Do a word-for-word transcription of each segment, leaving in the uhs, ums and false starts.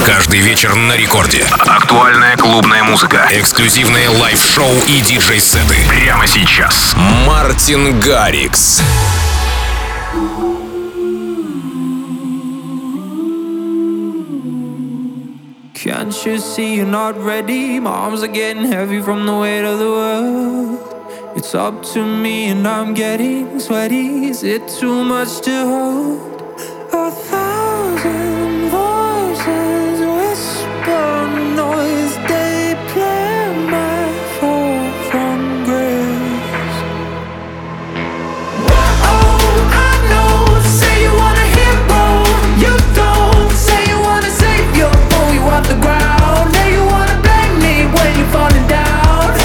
Каждый вечер на рекорде. Актуальная клубная музыка. Эксклюзивные лайв-шоу и диджей-сеты. Прямо сейчас. Мартин Гаррикс. Can't you see you're not ready? My arms are getting heavy from the weight of the world. It's up to me and I'm getting sweaty. Is it too much to hold? A thousand voices whisper noise. They play my fall from grace. Oh, I know. Say you want a hero. You don't. Say you want a savior. Pull you off the ground. Now you wanna blame me when you're falling down.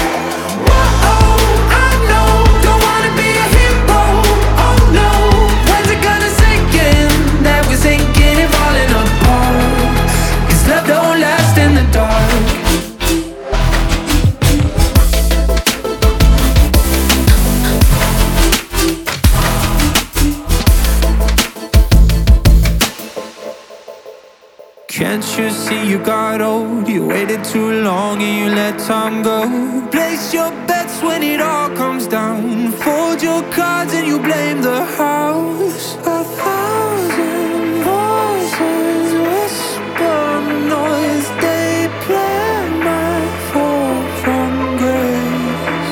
Can't you see you got old? You waited too long and you let time go. Place your bets when it all comes down. Fold your cards and you blame the house. A thousand voices whisper noise. They play my fall from grace.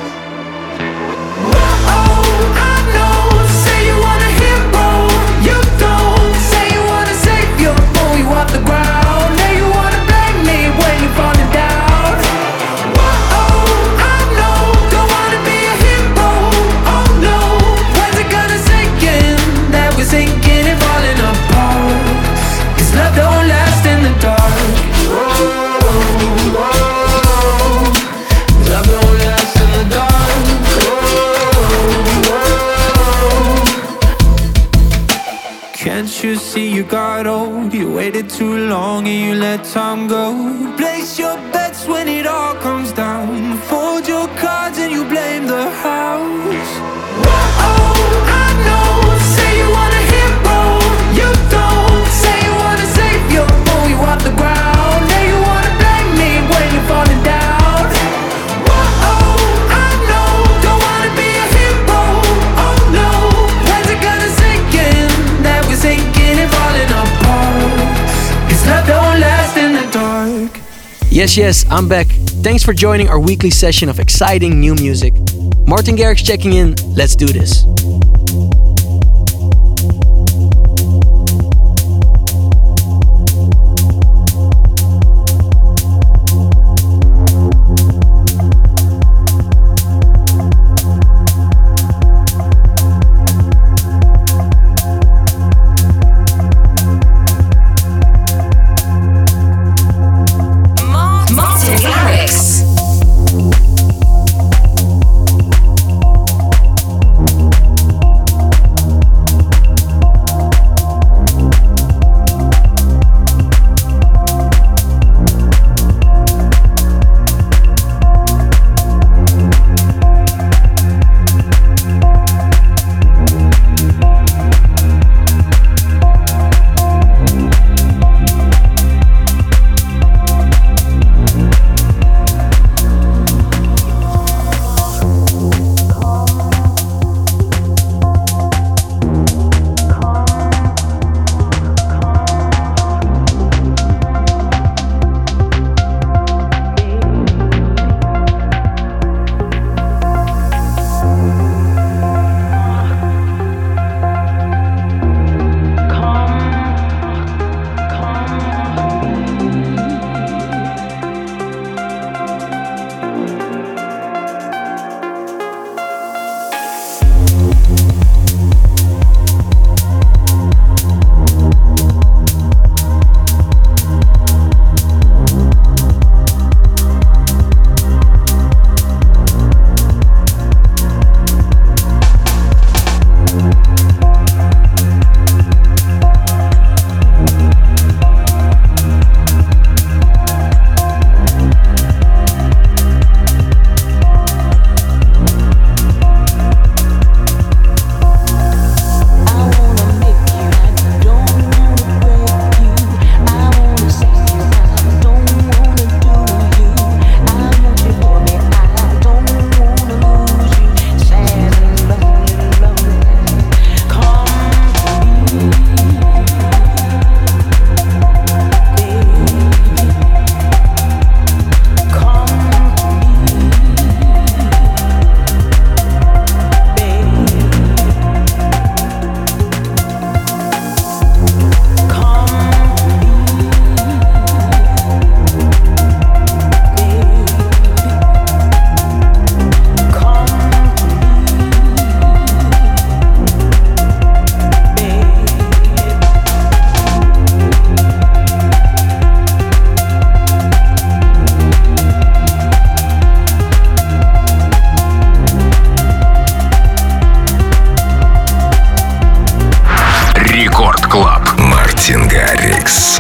Oh, I know. Say you want a hero. You don't. Say you want a savior. Pull you off the ground. Now you wanna blame me when you're falling down. Oh, I know. Don't wanna be a hero. Oh no. When's it gonna sink in that we're sinking and falling apart? 'Cause love don't last in the dark. Oh, oh, oh. Love don't last in the dark. Oh, oh. Can't you see you got old? You waited too long and you let time go. Place your bets when it all comes down. Fold your cards and you blame the house. Oh, I know. Say you want a hero. You don't. Say you want a savior. Pull you off the ground. Now you wanna blame me when you're falling down. Oh, I know. Don't wanna be a hero. Oh no. When's it gonna sink in that we're sinking and falling apart? 'Cause love don't last in the dark. Yes, yes, I'm back. Thanks for joining our weekly session of exciting new music. Martin Garrix checking in. Let's do this. Martin Garrix. Мартин Гаррикс.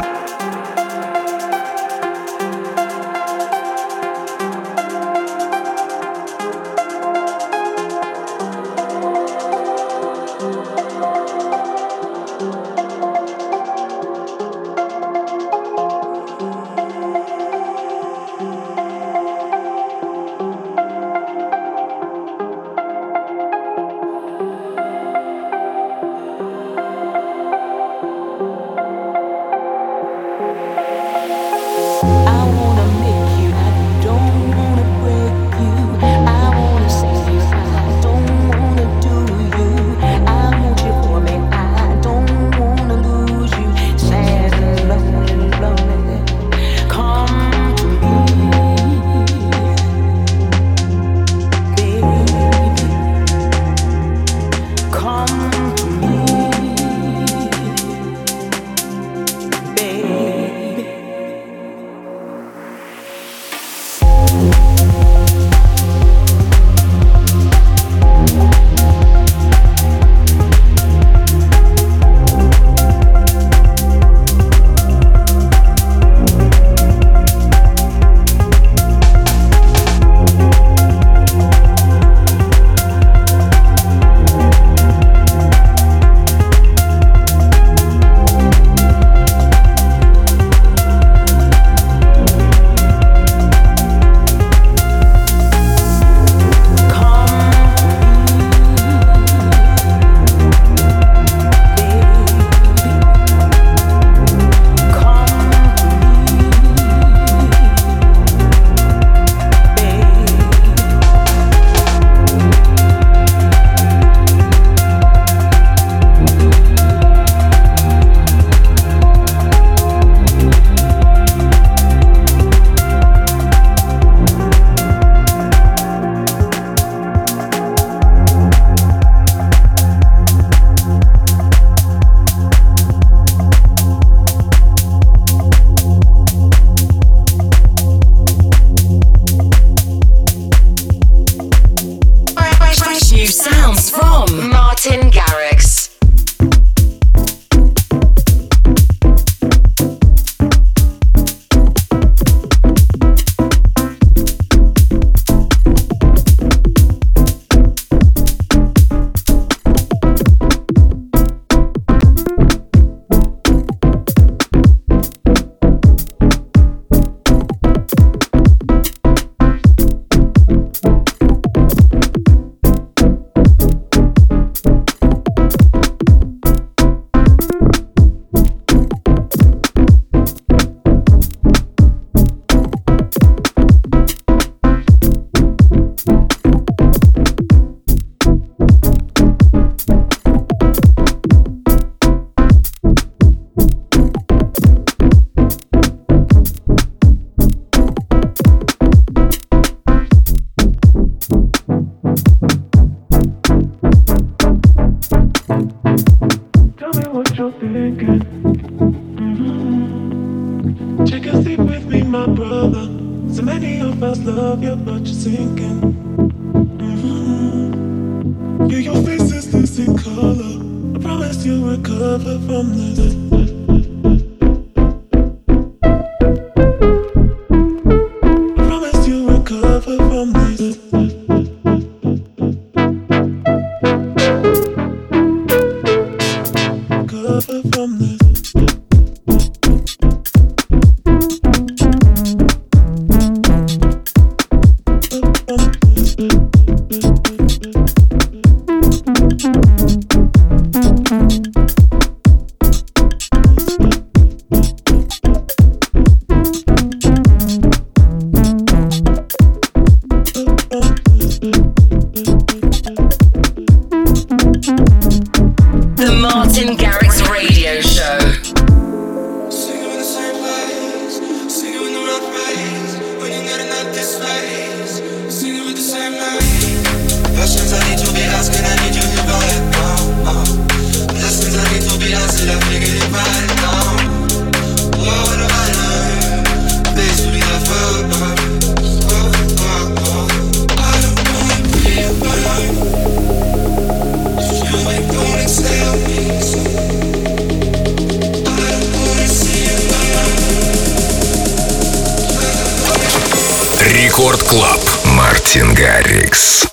Рекорд Клаб. Мартин Гаррикс.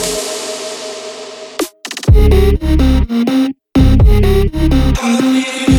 Oh, yeah.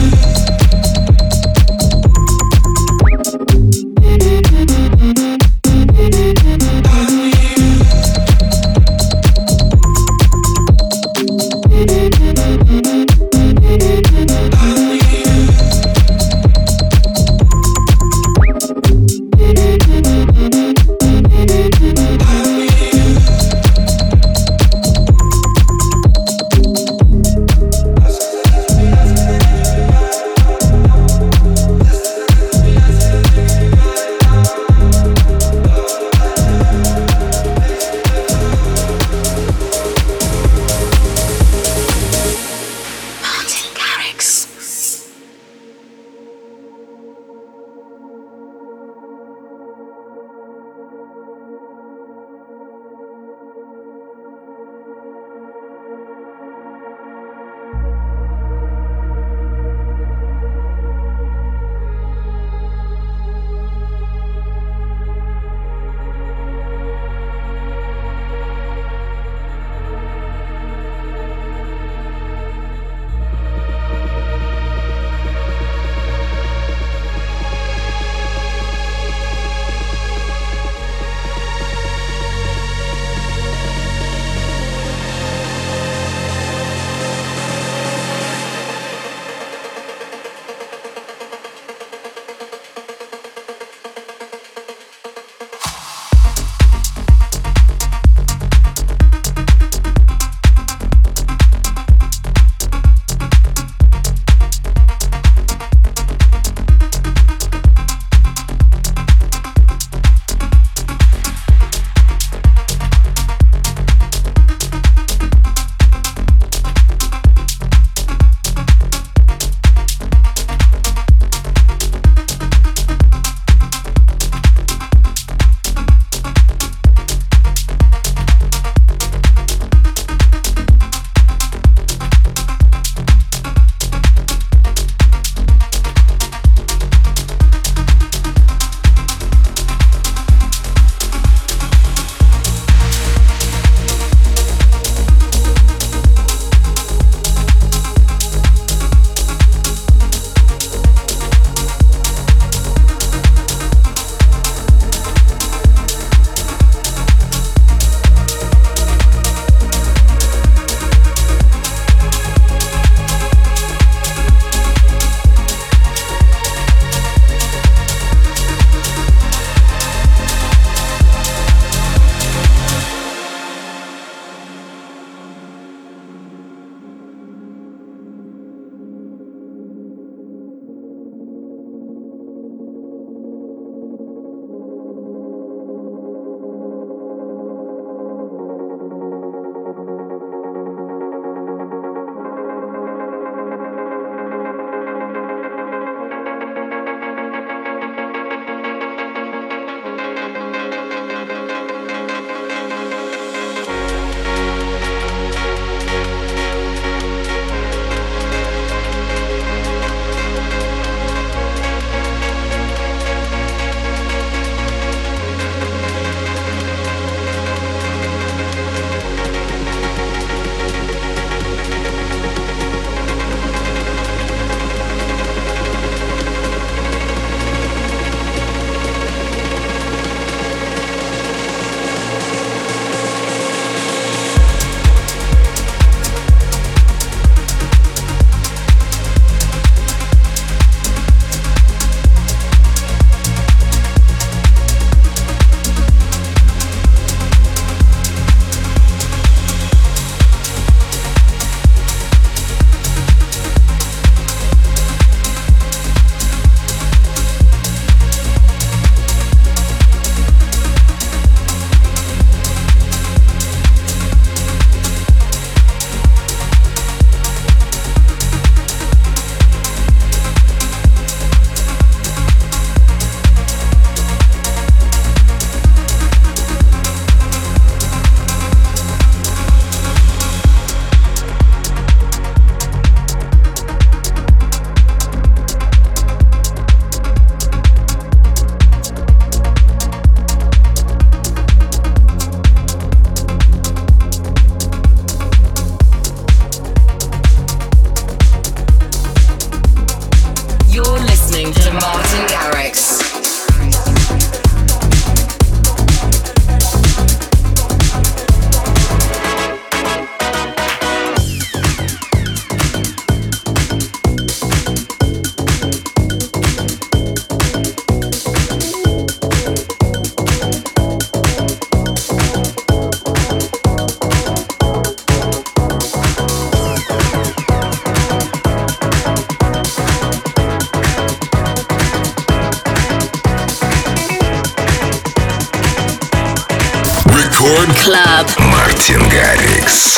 Record Club. Мартин Гаррикс.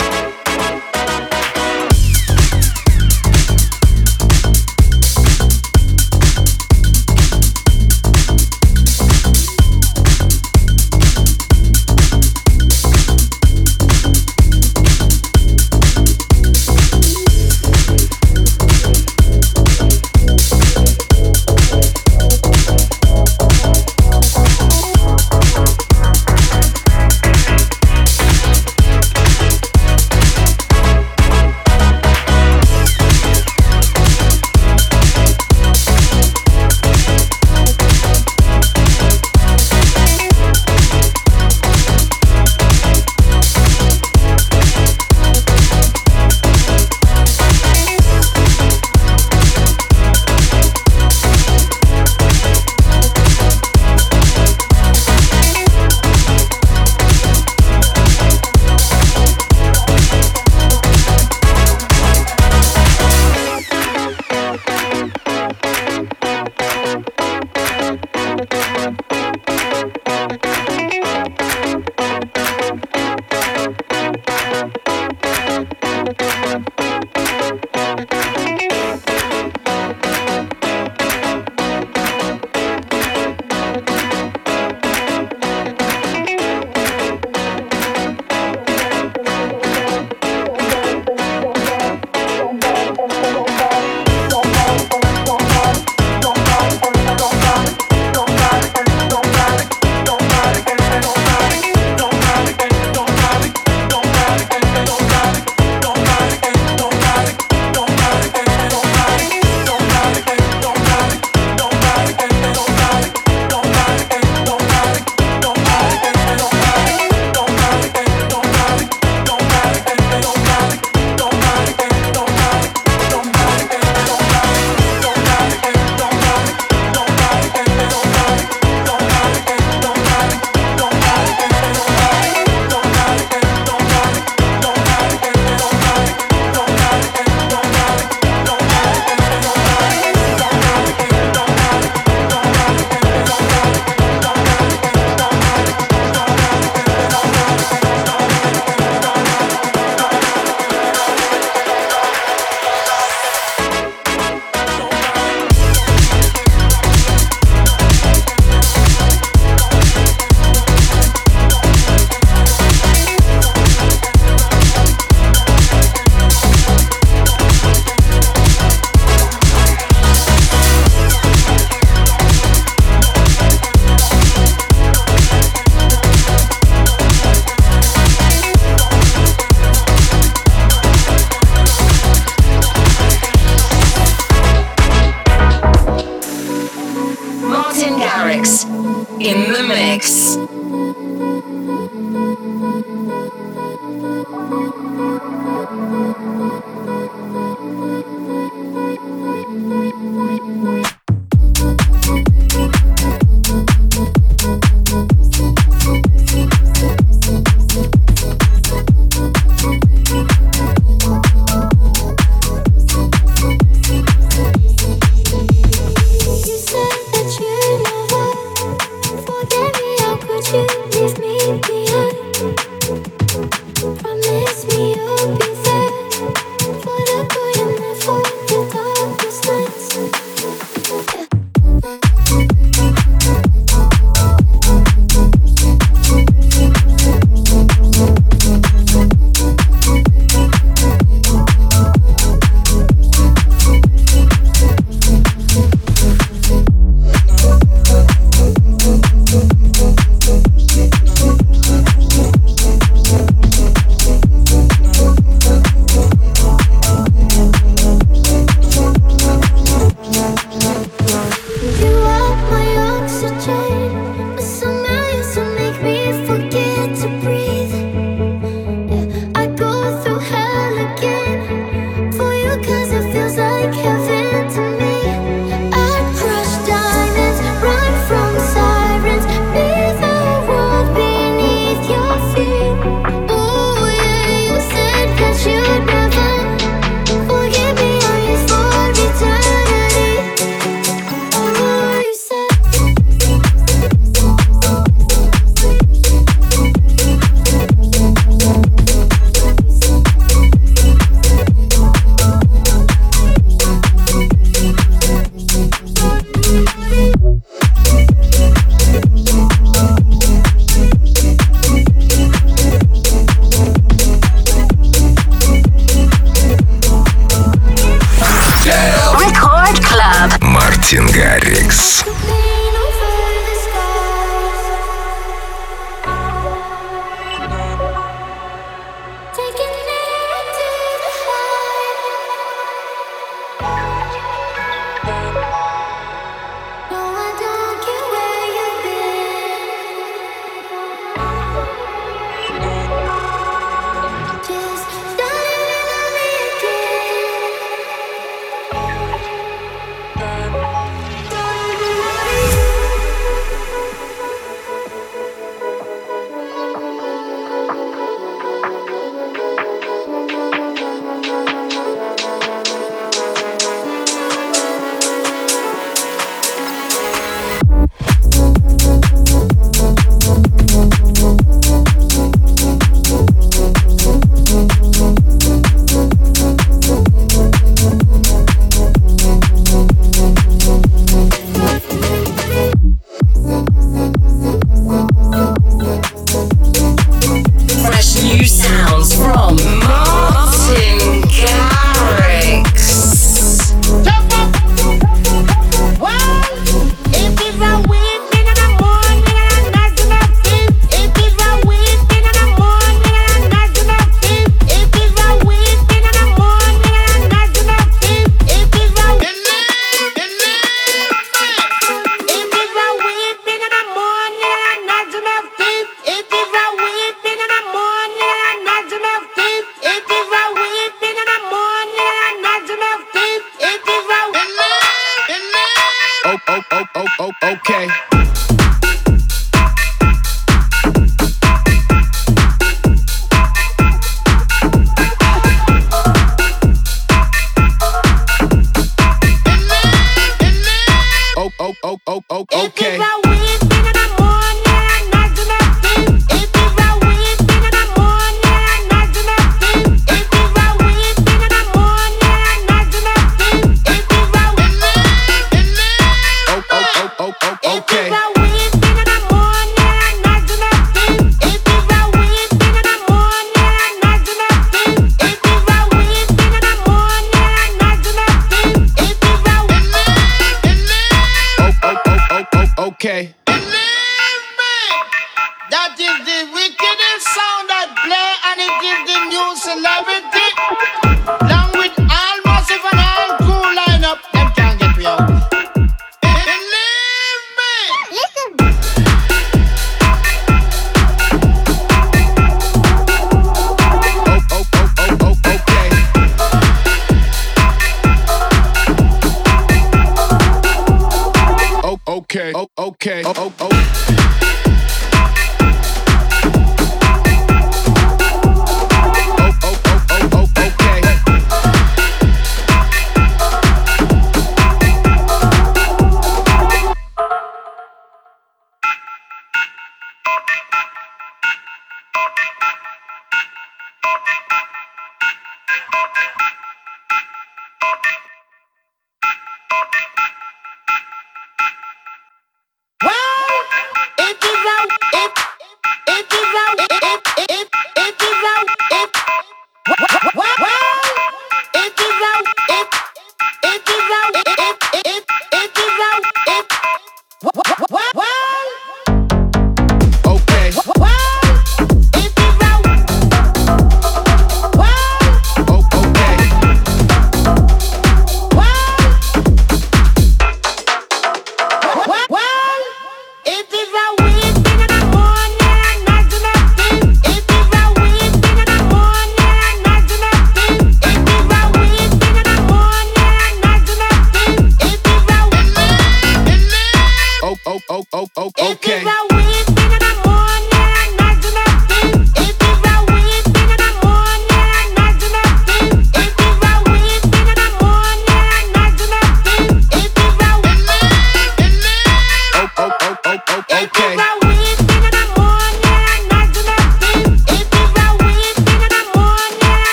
okay. Oh, oh, oh. Wow!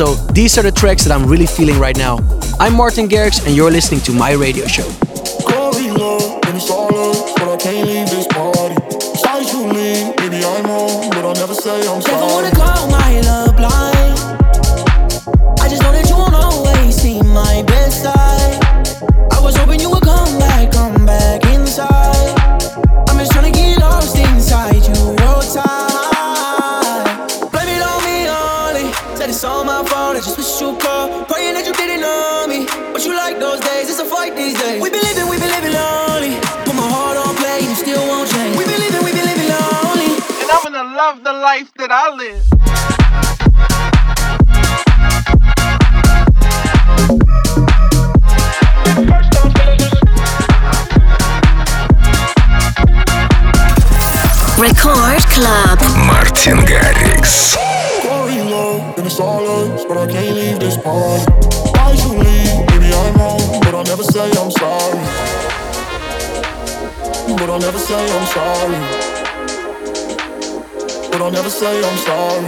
So these are the tracks that I'm really feeling right now. I'm Martin Garrix and you're listening to my radio show. Going low, and it's all up, but I can't leave this party. Sorry you leave, maybe I'm wrong, but I'll never say I'm sorry. Never wanna call my love blind. I just know that you won't always see my best side. I was hoping you would come back, come back inside. I'm just trying to get lost inside you, your time. Blame it on me, only. Said it's all my fault, I just wish you called. Praying that you didn't know me, but you like those days, it's a fight these days. We been living, we been living lonely. Put my heart on play, you still won't change. We been living, we been living lonely. And I'm gonna love the life that I live. Record Club. Martin Garrix. Going low, and it's all us, but I can't leave this party. Why you leave? Maybe I'm wrong, but I'll never say I'm sorry. But I'll never say I'm sorry. But I'll never say I'm sorry.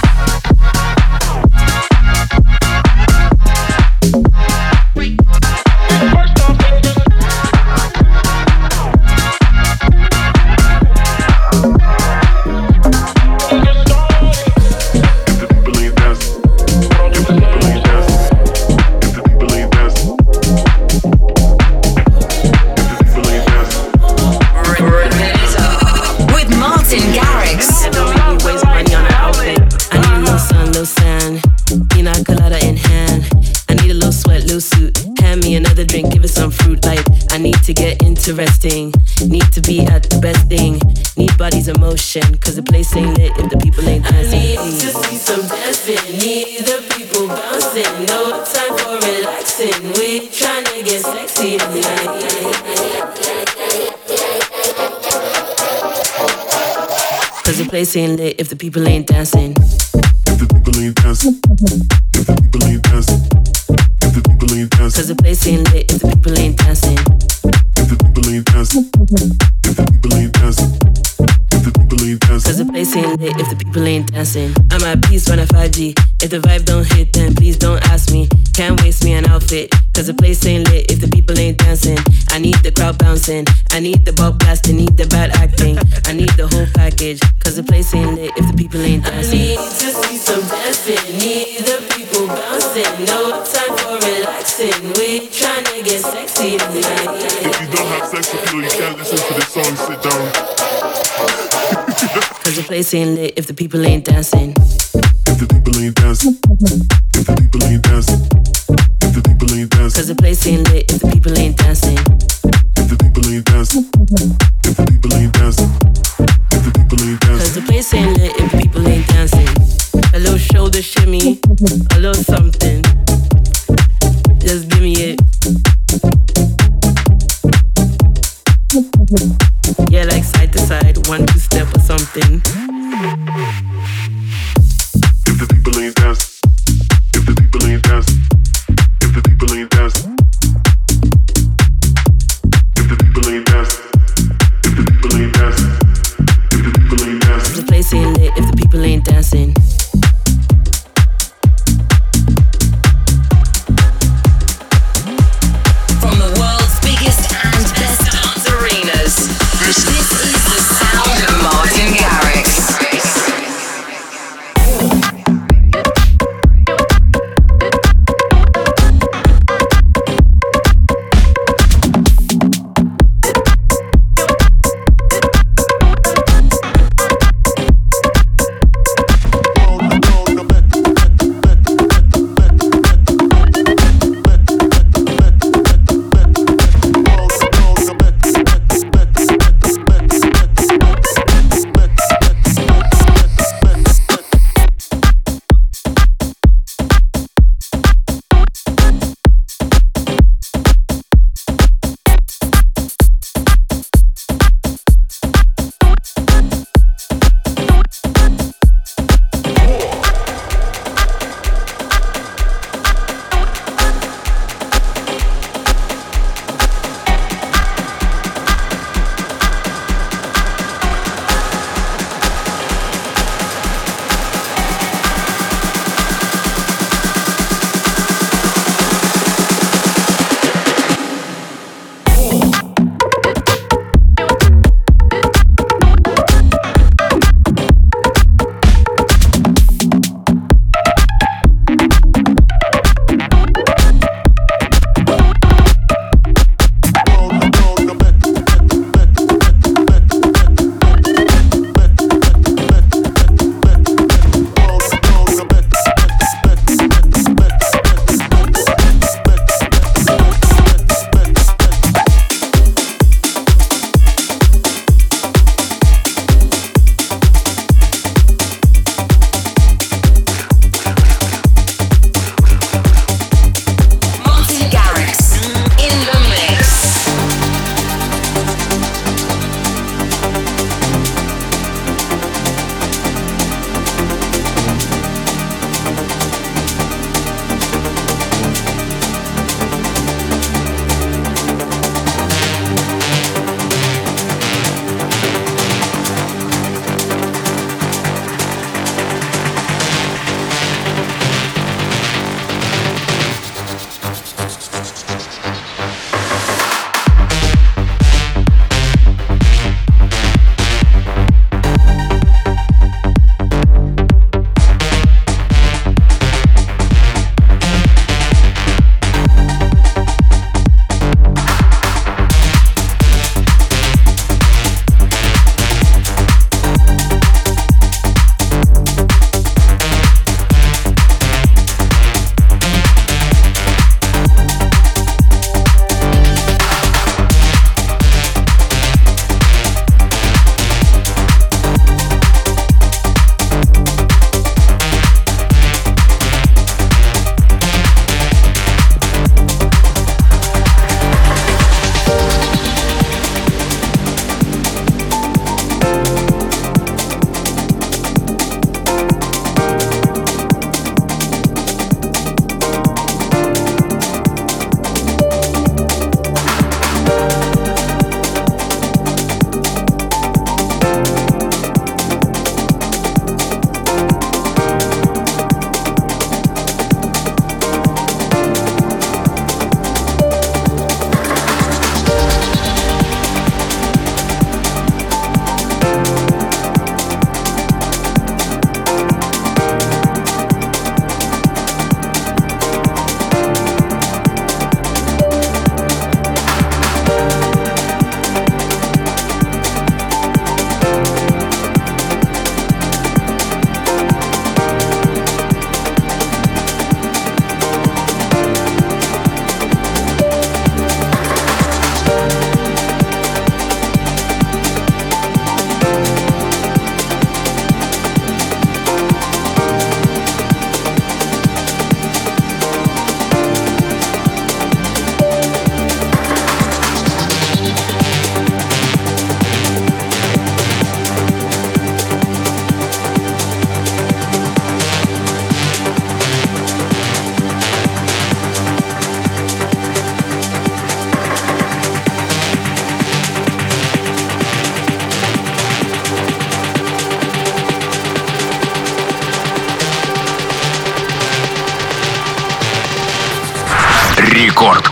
Interesting, need to be at the best thing. Need body's emotion, cause the place ain't lit if the people ain't dancing. I need to see some dancing, need the people bouncing. No time for relaxing, we tryna get sexy tonight. Cause the place ain't lit if the people ain't dancing. If the people ain't dancing, if the people ain't dancing, if the people ain't dancing. Cause the place ain't lit if the people ain't dancing. If the people ain't dancing, if the people ain't dancing, if the people ain't dancing. Cause the place ain't lit if the people ain't dancing. I'm at peace when I five G. If the vibe don't hit, then please don't ask me. Can't waste me an outfit. Cause the place ain't lit if the people ain't dancing. I need the crowd bouncing. I need the ball blasting. Need the bad acting. I need the whole package. Cause the place ain't lit if the people ain't dancing. I need to see some dancing. Need the people bouncing. No time for relaxing. We tryna get sexy tonight. If you don't have sex appeal, you can't listen to this song, sit down. Cause the place ain't lit if the people ain't dancing. If the people ain't dancing, if the people ain't dancing, if the people ain't dancing. Cause the place ain't lit if the people ain't dancing. If the people ain't dancing, if the people ain't dancing, if the people ain't dancing. Cause the place ain't lit if the people ain't dancing. A little shoulder shimmy, a little something. Just give me it. Yeah, like side to side, one two step or something. If the people ain't dancing, if the people ain't dancing, if the people ain't dancing, if the people ain't dancing, if the people ain't dancing, if the people ain't dancing. The place ain't lit if the people ain't dancing. From the world's biggest and best dance arenas, this, this is the sound of Martin Garrix.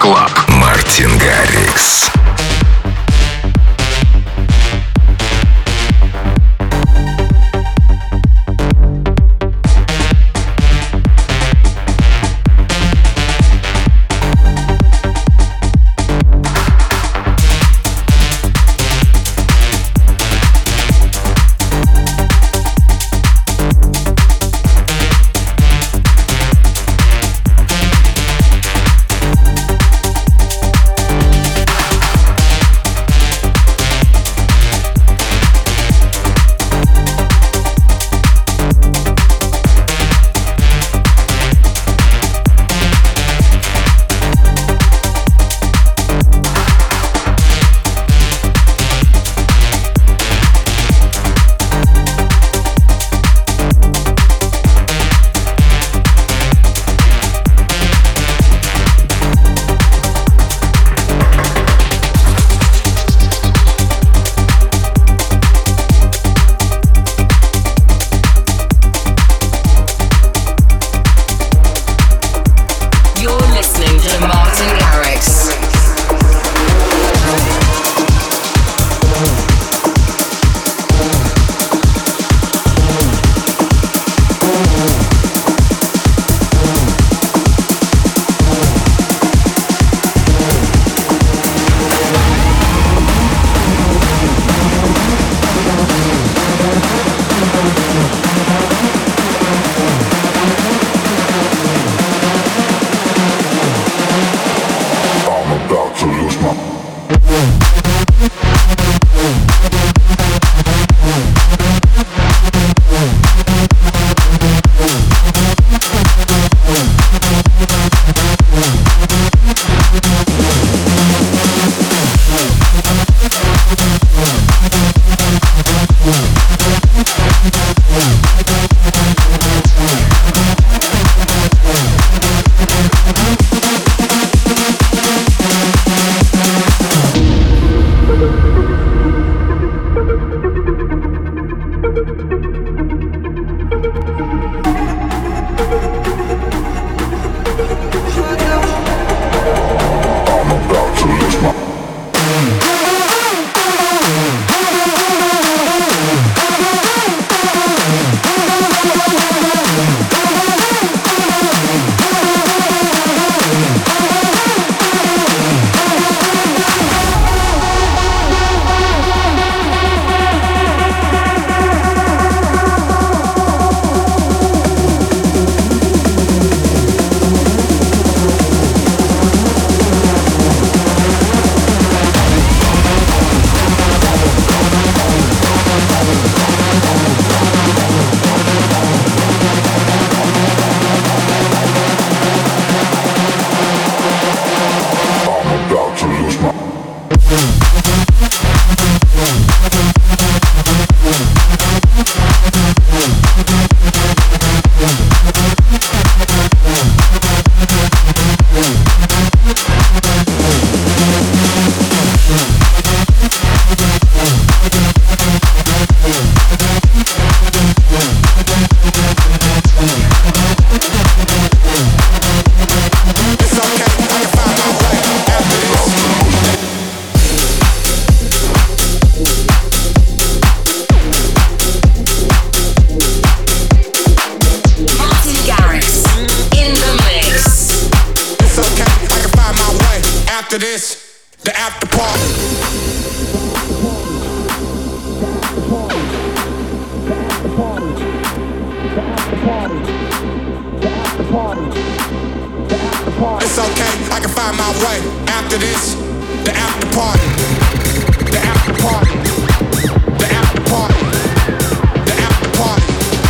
Club. Мартин Гаррикс. It's okay, I can find my way. After this, the after party. The after party. The after party. The after party.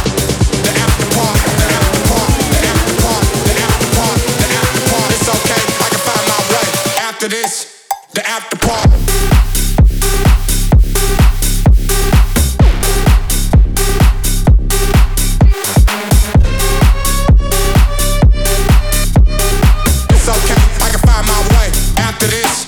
The after party. The after party. The after party. The after party. The after party. It's okay, I can find my way. After this, the after party. After this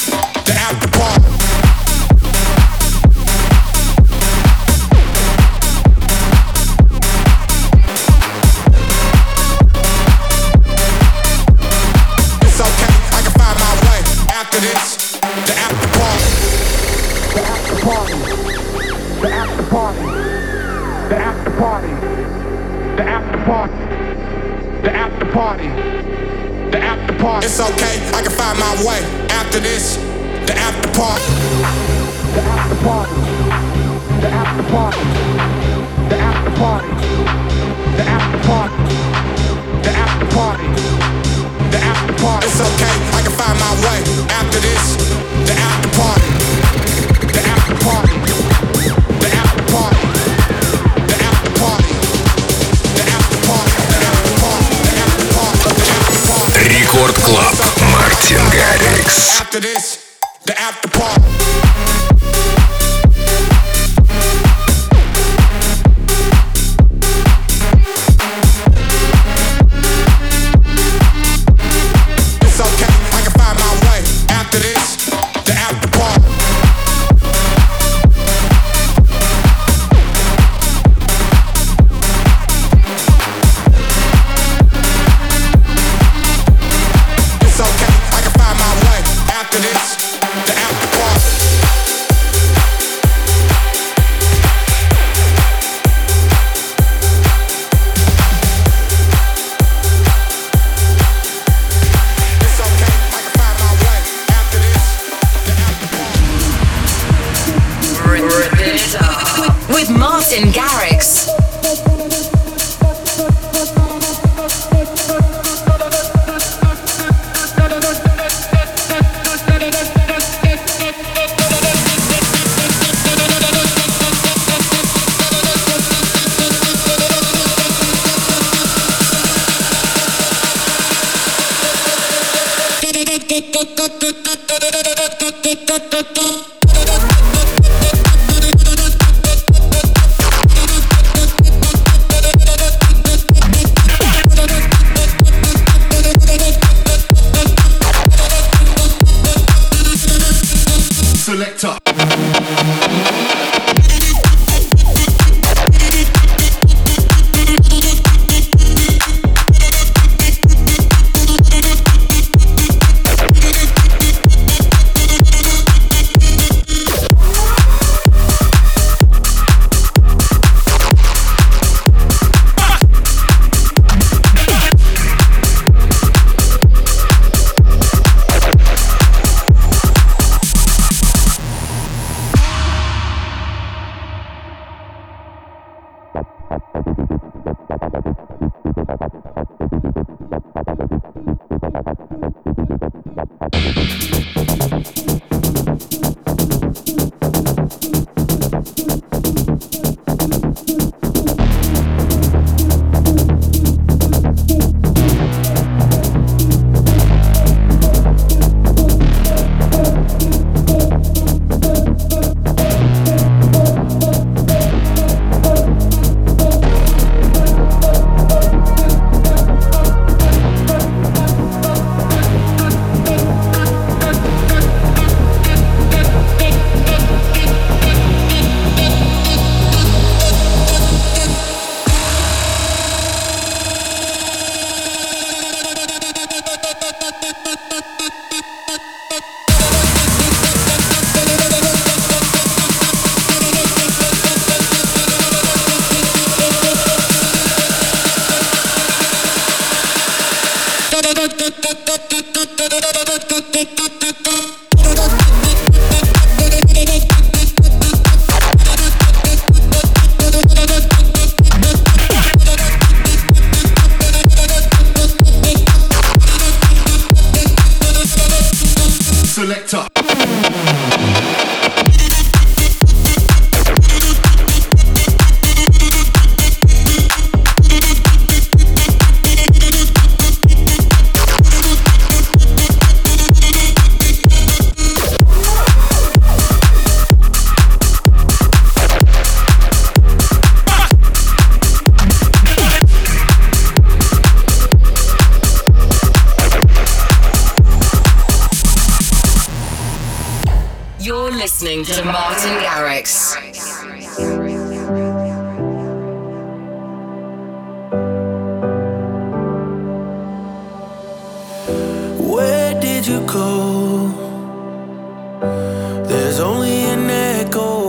party, the after party, the after party, the after party, the after party, the after party. It's okay, I can find my way after this. The after party, the after party, the after party, the after party, the after party, the after party, the after party. It's okay, I can find my way after this. The after party, the after party, the after party, the after party, the after party, the after party, the after party, the after party. Рекорд Клаб. Мартин Гаррикс. After this, the after party. With Martin Garrix. Listening to Martin Garrix. Where did you go? There's only an echo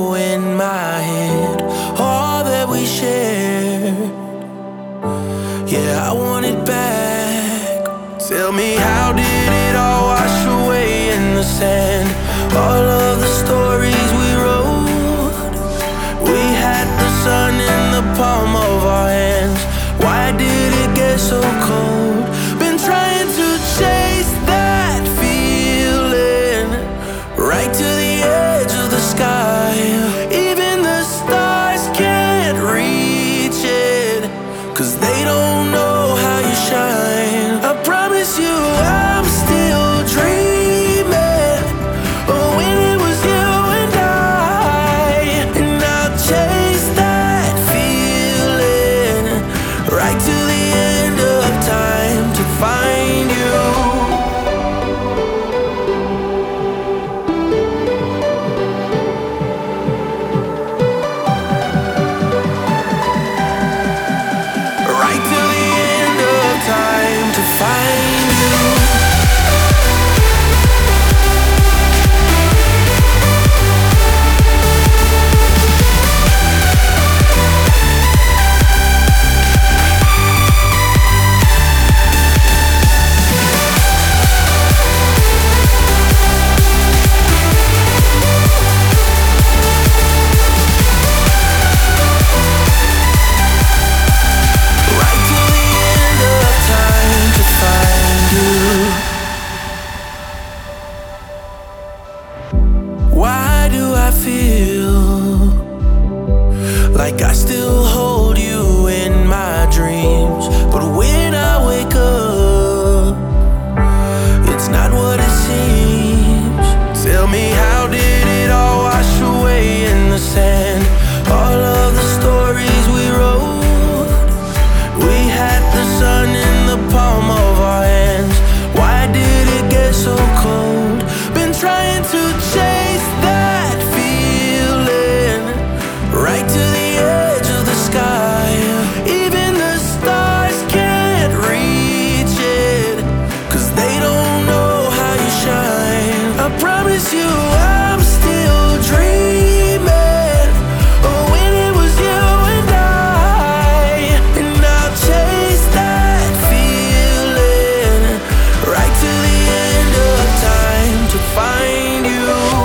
I feel like I still hold you in my dreams. But when I wake up, it's not what it seems. Tell me, how did it all wash away in the sand? All of the stories we wrote, we had the sun in the palm of our hands. Why did it get so cold? Been trying to chase that feeling right to the edge of the sky. Even the stars can't reach it, 'cause they don't know how you shine. I promise you I'm still dreaming of when it was you and I. And I'll chase that feeling right to the end of time to find you.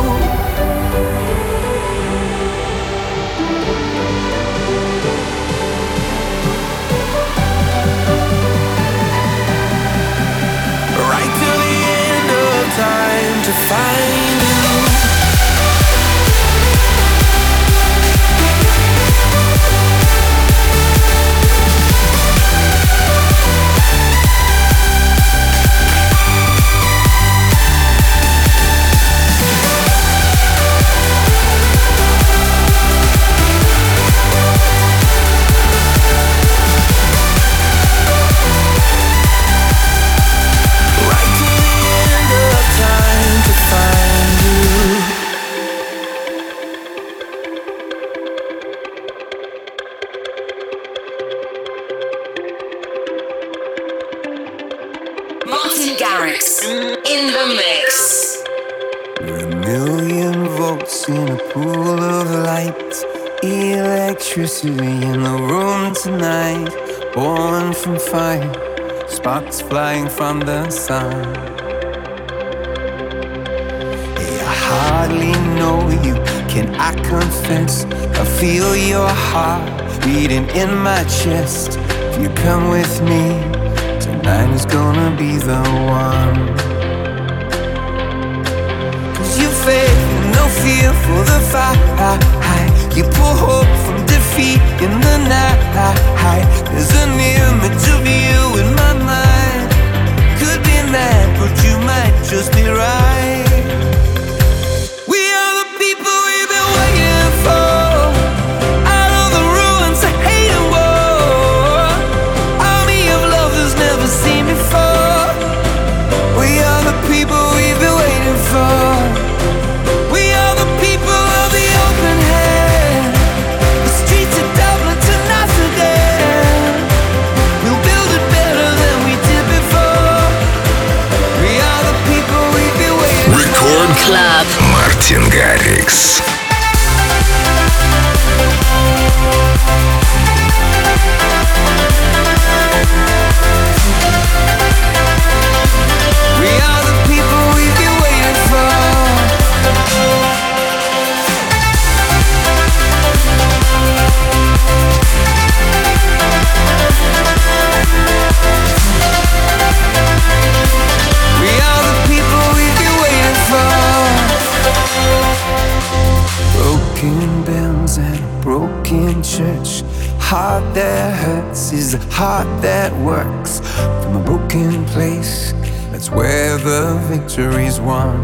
Right to the end of time to find you. Right to the end of time to find you. Martin Garrix in the mix. We're a million volts in a pool of light. Electricity in the room tonight. Born from fire, sparks flying from the sun. Hey, I hardly know you, can I confess? I feel your heart beating in my chest. If you come with me, tonight is gonna be the one. 'Cause you faith and no fear for the fight. You pull hope from defeat in the night. There's an image of you in my mind. Could be mad, but you might just be right. We are the people we've been waiting for. Out of the ruins of hate and war, army of love that's never seen before. We are the people we've been waiting for. We are the people of the open hand. The streets of Dublin to Amsterdam. We'll build it better than we did before. We are the people we've been waiting for. Record Club. Мартин Гаррикс. We are the people we've been waiting for. We are the people we've been waiting for. Broken bells and a broken church. Heart that hurts is a heart that works. From a broken place, that's where the victory's won.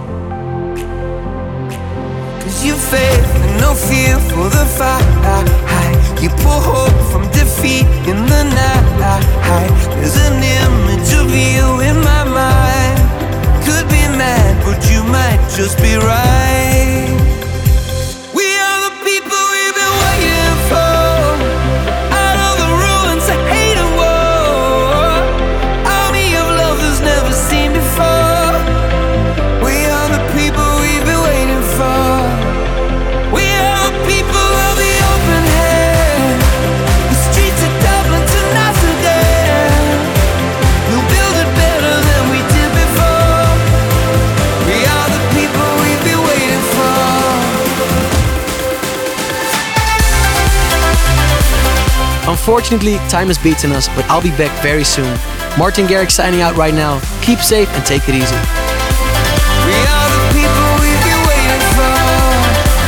'Cause you faith and no fear for the fight. You pull hope from defeat in the night. There's an image of you in my mind. Could be mad, but you might just be right. We are the people we've been waiting for. Out of the ruins of hate and war, army of love that's never seen before. We are the people we've been waiting for. We are the people of the open hand. The streets of Dublin to Amsterdam. We'll build it better than we did before. We are the people we've been waiting for. Unfortunately, time has beaten us, but I'll be back very soon. Martin Garrix signing out right now. Keep safe and take it easy. We are the people we've been waiting for.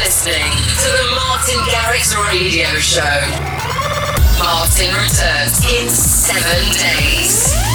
listening to the Martin Garrix Radio Show. Martin returns in seven days.